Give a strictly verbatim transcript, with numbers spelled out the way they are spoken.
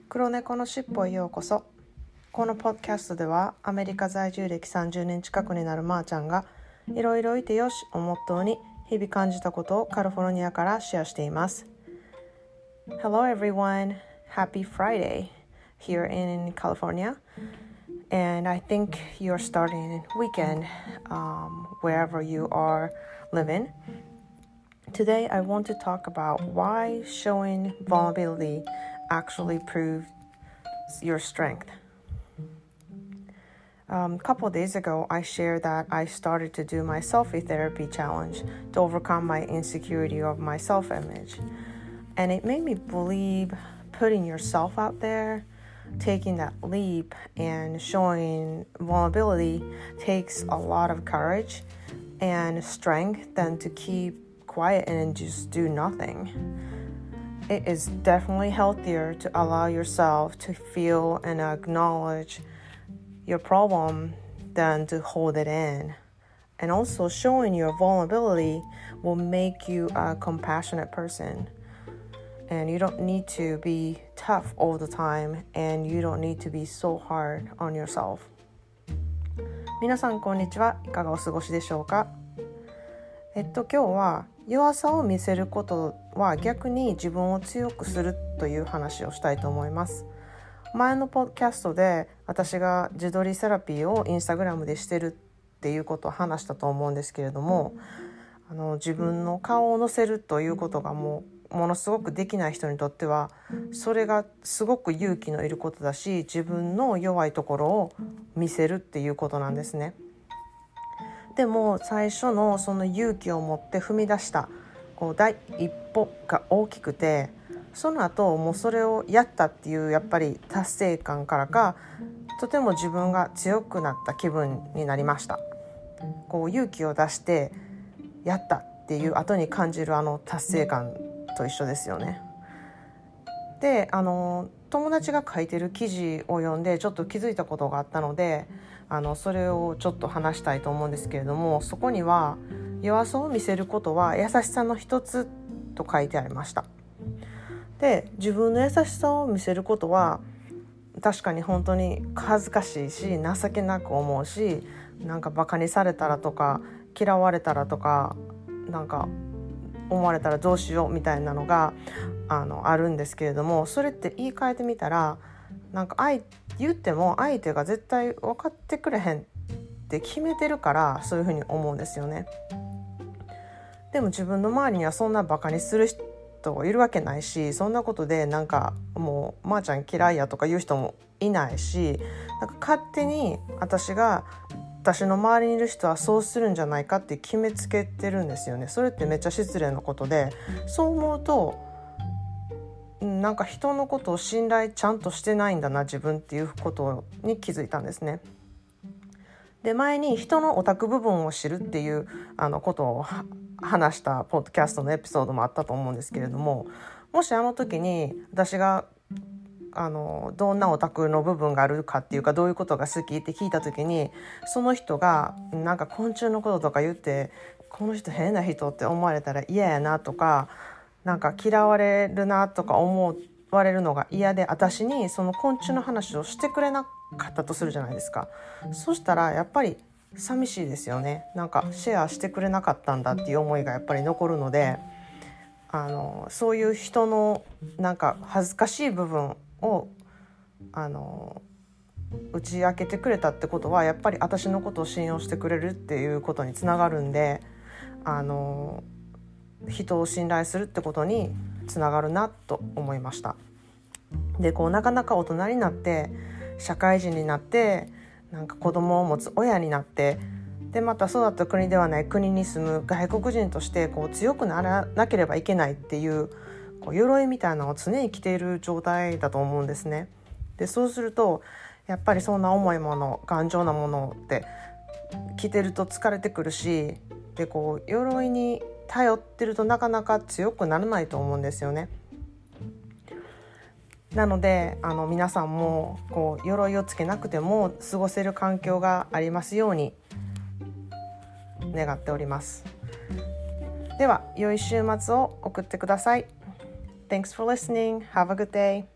黒猫のしっぽへようこそ。このポッドキャストではアメリカ在住歴さんじゅうねん近くになるまーちゃんがいろいろいてよしをモットーに日々感じたことをカリフォルニアからシェアしています。 Hello everyone, happy Friday here in California, and I think you're starting weekend um, wherever you are living. Today I want to talk about why showing vulnerability actually proves your strength. Um, a couple of days ago, I shared that I started to do my selfie therapy challenge to overcome my insecurity of my self-image. And it made me believe putting yourself out there, taking that leap and showing vulnerability takes a lot of courage and strength than to keep quiet and just do nothing. It is definitely healthier to allow yourself to feel and acknowledge your problem than to hold it in. And also showing your vulnerability will make you a compassionate person. And you don't need to be tough all the time, and you don't need to be so hard on yourself. 皆さんこんにちは。いかがお過ごしでしょうか。えっと今日は弱さを見せることは逆に自分を強くするという話をしたいと思います。前のポッドキャストで私が自撮りセラピーをインスタグラムでしてるっていうことを話したと思うんですけれども、あの自分の顔を載せるということがもうものすごくできない人にとってはそれがすごく勇気のいることだし、自分の弱いところを見せるっていうことなんですね。でも最初のその勇気を持って踏み出したこう第一歩が大きくて、その後もうそれをやったっていうやっぱり達成感からかとても自分が強くなった気分になりました。こう勇気を出してやったっていう後に感じるあの達成感と一緒ですよね。で、あの友達が書いてる記事を読んでちょっと気づいたことがあったので、あのそれをちょっと話したいと思うんですけれども、そこには弱さを見せることは優しさの一つと書いてありました。で、自分の優しさを見せることは確かに本当に恥ずかしいし情けなく思うし、なんかバカにされたらとか嫌われたらとかなんか思われたらどうしようみたいなのが あの、あるんですけれども、それって言い換えてみたらなんか相言っても相手が絶対分かってくれへんって決めてるからそういうふうに思うんですよね。でも自分の周りにはそんなバカにする人いるわけないし、そんなことでなんかもうまーちゃん嫌いやとか言う人もいないし、なんか勝手に私が私の周りにいる人はそうするんじゃないかって決めつけてるんですよね。それってめっちゃ失礼なことで、そう思うとなんか人のことを信頼ちゃんとしてないんだな自分っていうことに気づいたんですね。で、前に人のオタク部分を知るっていうあのことを話したポッドキャストのエピソードもあったと思うんですけれども、もしあの時に私があのどんなオタクの部分があるかっていうかどういうことが好きって聞いた時に、その人がなんか昆虫のこととか言ってこの人変な人って思われたら嫌やなとか、なんか嫌われるなとか思われるのが嫌で私にその昆虫の話をしてくれなかったとするじゃないですか。そしたらやっぱり寂しいですよね。なんかシェアしてくれなかったんだっていう思いがやっぱり残るので、あのそういう人のなんか恥ずかしい部分をあの打ち明けてくれたってことはやっぱり私のことを信用してくれるっていうことにつながるんで、あの人を信頼するってことにつながるなと思いました。で、こうなかなか大人になって社会人になってなんか子供を持つ親になって、でまた育った国ではない国に住む外国人としてこう強くならなければいけないっていうこう鎧みたいなのを常に着ている状態だと思うんですね。で、そうするとやっぱりそんな重いもの頑丈なものって着てると疲れてくるし、でこう鎧に頼ってるとなかなか強くならないと思うんですよね。なのであの皆さんもこう鎧をつけなくても過ごせる環境がありますように願っております。では良い週末を送ってください。Thanks for listening. Have a good day.